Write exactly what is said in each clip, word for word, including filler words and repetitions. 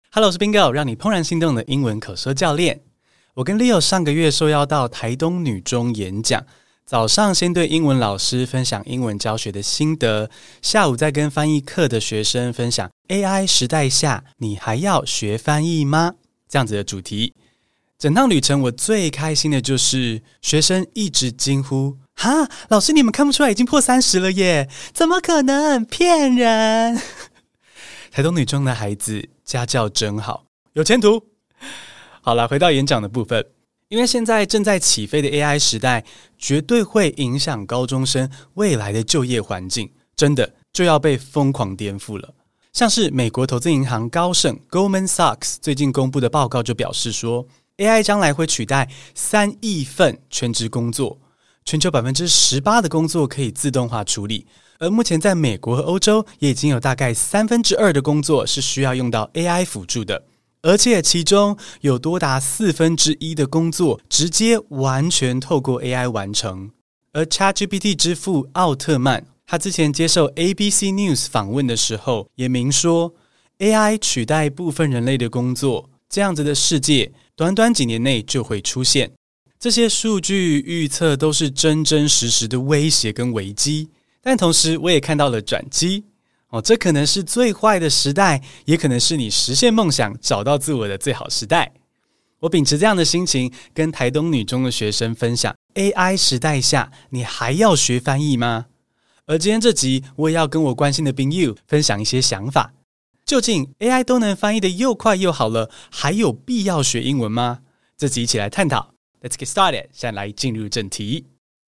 Hello， 我是 Bingo， 讓你怦然心動的英文口說教練。我跟 Leo 上個月受邀到台東女中演講，早上先對英文老師分享英文教學的心得，下午再跟翻譯課的學生分享 A I 時代下你還要學翻譯嗎？這樣子的主題。整趟旅程我最開心的就是學生一直驚呼，哈，老師你們看不出來已經破三十了耶？怎麼可能？騙人！台東女中的孩子家教真好，有前途。好了，回到演講的部分，因為現在正在起飛的 A I 時代，絕對會影響高中生未來的就業環境，真的就要被瘋狂顛覆了。像是美國投資銀行高盛 Goldman Sachs 最近公布的報告就表示說， A I 將來會取代三億份全職工作，全球百分之十八的工作可以自動化處理。而目前在美國和歐洲也已經有大概三分之二的工作是需要用到 A I 輔助的，而且其中有多達四分之一的工作直接完全透過 A I 完成。而 ChatGPT 之父奧特曼，他之前接受 A B C News 訪問的時候也明說， A I 取代部分人類的工作，這樣子的世界短短幾年內就會出現。這些數據預測都是真真實實的威脅跟危機。但同時我也看到了轉機哦，這可能是最壞的時代，也可能是你實現夢想找到自我的最好時代。我秉持這樣的心情跟台東女中的學生分享， A I 時代下你還要學翻譯嗎？而今天這集我也要跟我關心的朋友分享一些想法，究竟 A I 都能翻譯的又快又好了，還有必要學英文嗎？這集一起來探討。 Let's get started， 現在來進入正題。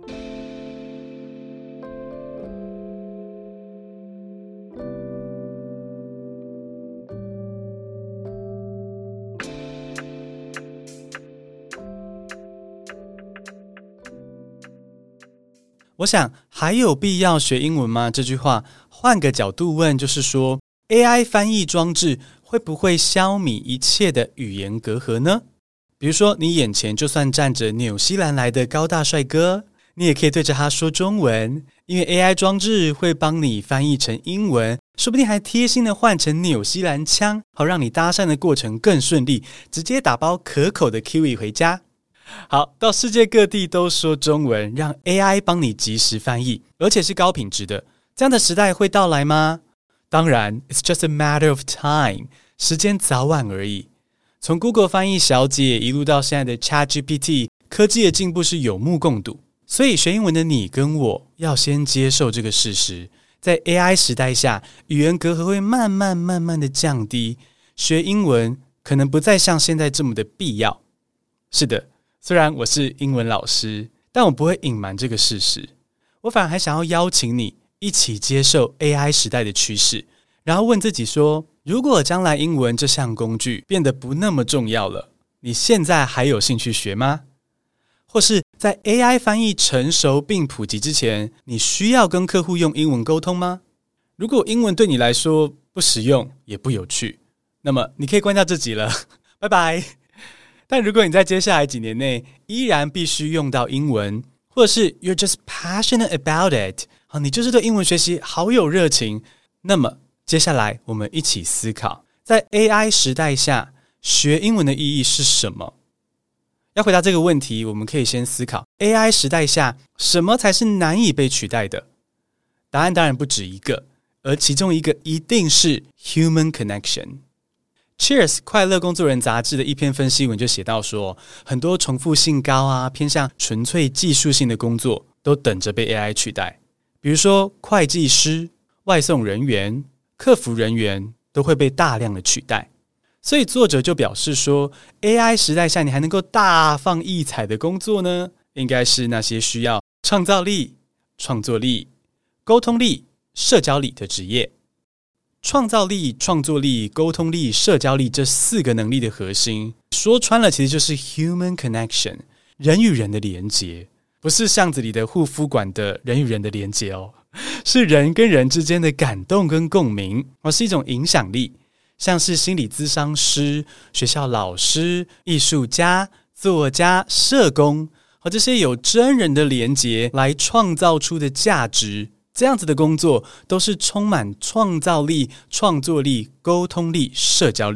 我想還有必要學英文嗎？這句話換個角度問，就是說 A I 翻譯裝置會不會消弭一切的語言隔閡呢？比如說你眼前就算站着紐西蘭來的高大帥哥，你也可以對着他說中文，因為 A I 裝置會幫你翻譯成英文，說不定還貼心的換成紐西蘭腔，好讓你搭訕的過程更順利，直接打包可口的 Kiwi 回家。好，到世界各地都說中文，讓 A I 幫你即時翻譯，而且是高品質的，這樣的時代會到來嗎？當然 ，It's just a matter of time， 時間早晚而已。從 Google 翻譯小姐一路到現在的 ChatGPT， 科技的進步是有目共睹。所以學英文的你跟我要先接受這個事實，在 A I 時代下，語言隔閡會慢慢慢慢的降低，學英文可能不再像現在這麼的必要。是的。雖然我是英文老師，但我不會隱瞞這個事實。我反而還想要邀請你一起接受 A I 時代的趨勢，然後問自己說，如果將來英文這項工具變得不那麼重要了，你現在還有興趣學嗎？或是在 A I 翻譯成熟並普及之前，你需要跟客戶用英文溝通嗎？如果英文對你來說不實用也不有趣，那麼你可以關掉這集了，拜拜。但如果你在接下來幾年內依然必須用到英文，或者是 you're just passionate about it， 你就是對英文學習好有熱情，那麼接下來我們一起思考，在 A I 時代下學英文的意義是什麼？要回答這個問題，我們可以先思考 A I 時代下什麼才是難以被取代的？答案當然不止一個，而其中一個一定是 human connection。Cheers 快樂工作人雜誌的一篇分析文就寫到說，很多重複性高啊，偏向純粹技術性的工作都等着被 A I 取代，比如說會計師、外送人員、客服人員都會被大量的取代。所以作者就表示說， A I 時代下你還能夠大放異彩的工作呢，應該是那些需要創造力、創作力、溝通力、社交力的職業。創造力、創作力、溝通力、社交力這四個能力的核心，說穿了其實就是 human connection， 人與人的連結，不是巷子裡的護膚館的人與人的連結哦，是人跟人之間的感動跟共鳴，而是一種影響力，像是心理諮商師、學校老師、藝術家、作家、社工和這些有真人的連結來創造出的價值。這樣子的工作都是充滿創造力、創作力、溝通力、社交力，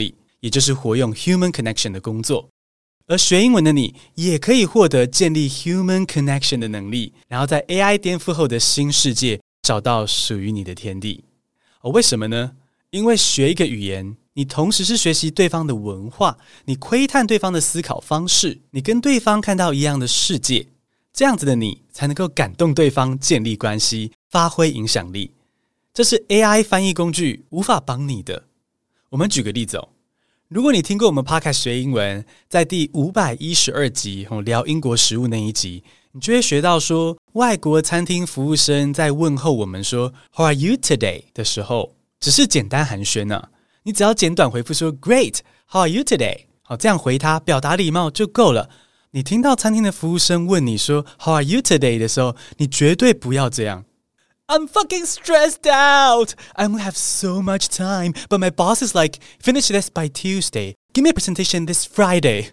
也就是活用 human connection 的工作。而學英文的你也可以獲得建立 human connection 的能力，然後在 A I 顛覆後的新世界找到屬於你的天地。哦，為什麼呢？因為學一個語言，你同時是學習對方的文化，你窺探對方的思考方式，你跟對方看到一樣的世界，這樣子的你才能夠感動對方，建立關係，發揮影響力。這是 A I 翻譯工具無法幫你的。我們舉個例子哦，如果你聽過我們 Podcast 學英文，在第五百一十二集聊英國食物那一集，你就會學到說，外國餐廳服務生在問候我們說 How are you today 的時候，只是簡單寒暄啊，你只要簡短回復說 Great, how are you today？ 好，這樣回他表達禮貌就夠了。你聽到餐廳的服務生問你說 How are you today 的時候，你絕對不要這樣。I'm fucking stressed out. I only have so much time, but my boss is like, finish this by Tuesday. Give me a presentation this Friday.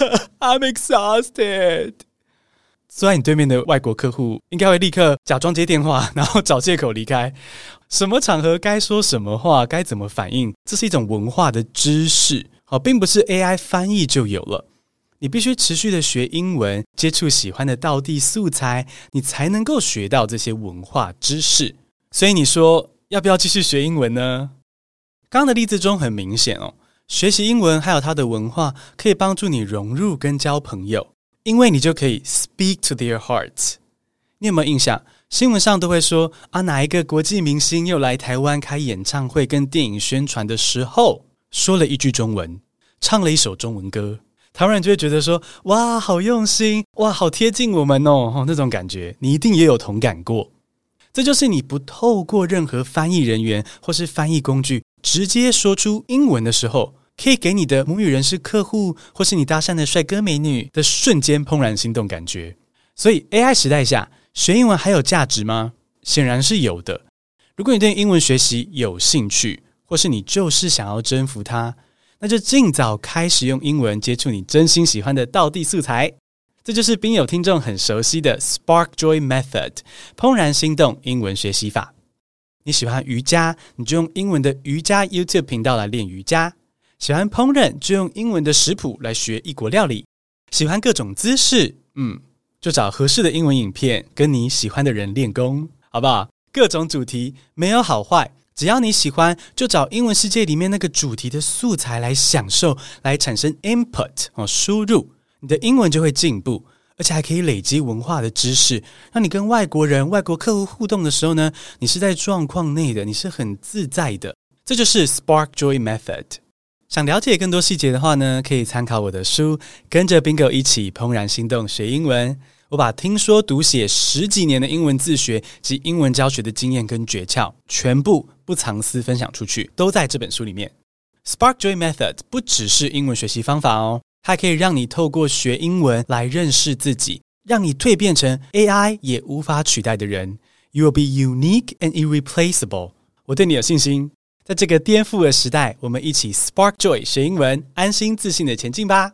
I'm exhausted. 雖然你對面的外國客戶應該會立刻假裝接電話，然後找借口離開。什麼場合該說什麼話，該怎麼反應，這是一種文化的知識，好，並不是 A I 翻譯就有了。你必須持續的學英文，接觸喜歡的道地素材，你才能夠學到這些文化知識。所以你說要不要繼續學英文呢？剛剛的例子中很明顯哦，學習英文還有它的文化可以幫助你融入跟交朋友，因為你就可以 speak to their hearts。你有沒有印象？新聞上都會說啊，哪一個國際明星又來台灣開演唱會跟電影宣傳的時候，說了一句中文，唱了一首中文歌。台灣人就會覺得說，哇，好用心，哇，好貼近我們哦，哦，那種感覺，你一定也有同感過。這就是你不透過任何翻譯人員或是翻譯工具，直接說出英文的時候，可以給你的母語人士客戶，或是你搭訕的帥哥美女的瞬間怦然心動感覺。所以 A I 時代下，學英文還有價值嗎？顯然是有的。如果你對英文學習有興趣，或是你就是想要征服它，那就盡早開始用英文接觸你真心喜歡的道地素材。這就是賓友聽眾很熟悉的 Spark Joy Method 怦然心動英文學習法。你喜歡瑜伽，你就用英文的瑜伽 YouTube 頻道來練瑜伽；喜歡烹飪，就用英文的食譜來學異國料理；喜歡各種姿勢，嗯，就找合適的英文影片跟你喜歡的人練功，好不好？各種主題沒有好壞。只要你喜歡，就找英文世界裡面那個主題的素材來享受，來產生 input 哦，輸入，你的英文就會進步，而且還可以累積文化的知識，讓你跟外國人、外國客戶互動的時候呢，你是在狀況內的，你是很自在的。這就是 Spark Joy Method。想了解更多細節的話呢，可以參考我的書，跟着 Bingo 一起怦然心動學英文。我把聽說讀寫十幾年的英文自學及英文教學的經驗跟訣竅，全部不藏私分享出去，都在這本書裡面。Spark Joy Method 不只是英文學習方法哦，它可以讓你透過學英文來認識自己，讓你蛻變成 A I 也無法取代的人。You will be unique and irreplaceable。我對你有信心，在這個顛覆的時代，我們一起 Spark Joy 學英文，安心自信的前進吧。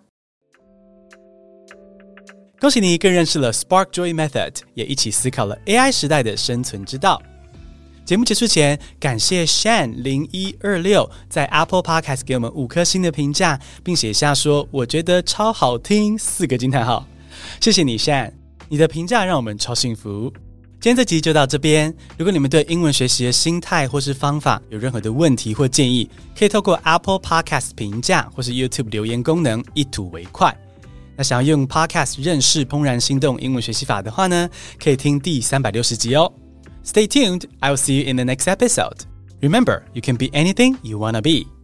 恭喜你更認識了 Spark Joy Method， 也一起思考了 A I 時代的生存之道。節目結束前，感謝 Shan 零一二六在 Apple Podcast 給我們五顆星的評價，並寫下說我覺得超好聽四個驚嘆號。謝謝你 Shan， 你的評價讓我們超幸福。今天這集就到這邊，如果你們對英文學習的心態或是方法有任何的問題或建議，可以透過 Apple Podcast 評價或是 YouTube 留言功能一吐為快。那想要用 Podcast 認識怦然心動英文學習法的話呢，可以聽第三百六十集哦。Stay tuned, I will see you in the next episode. Remember, you can be anything you wanna be.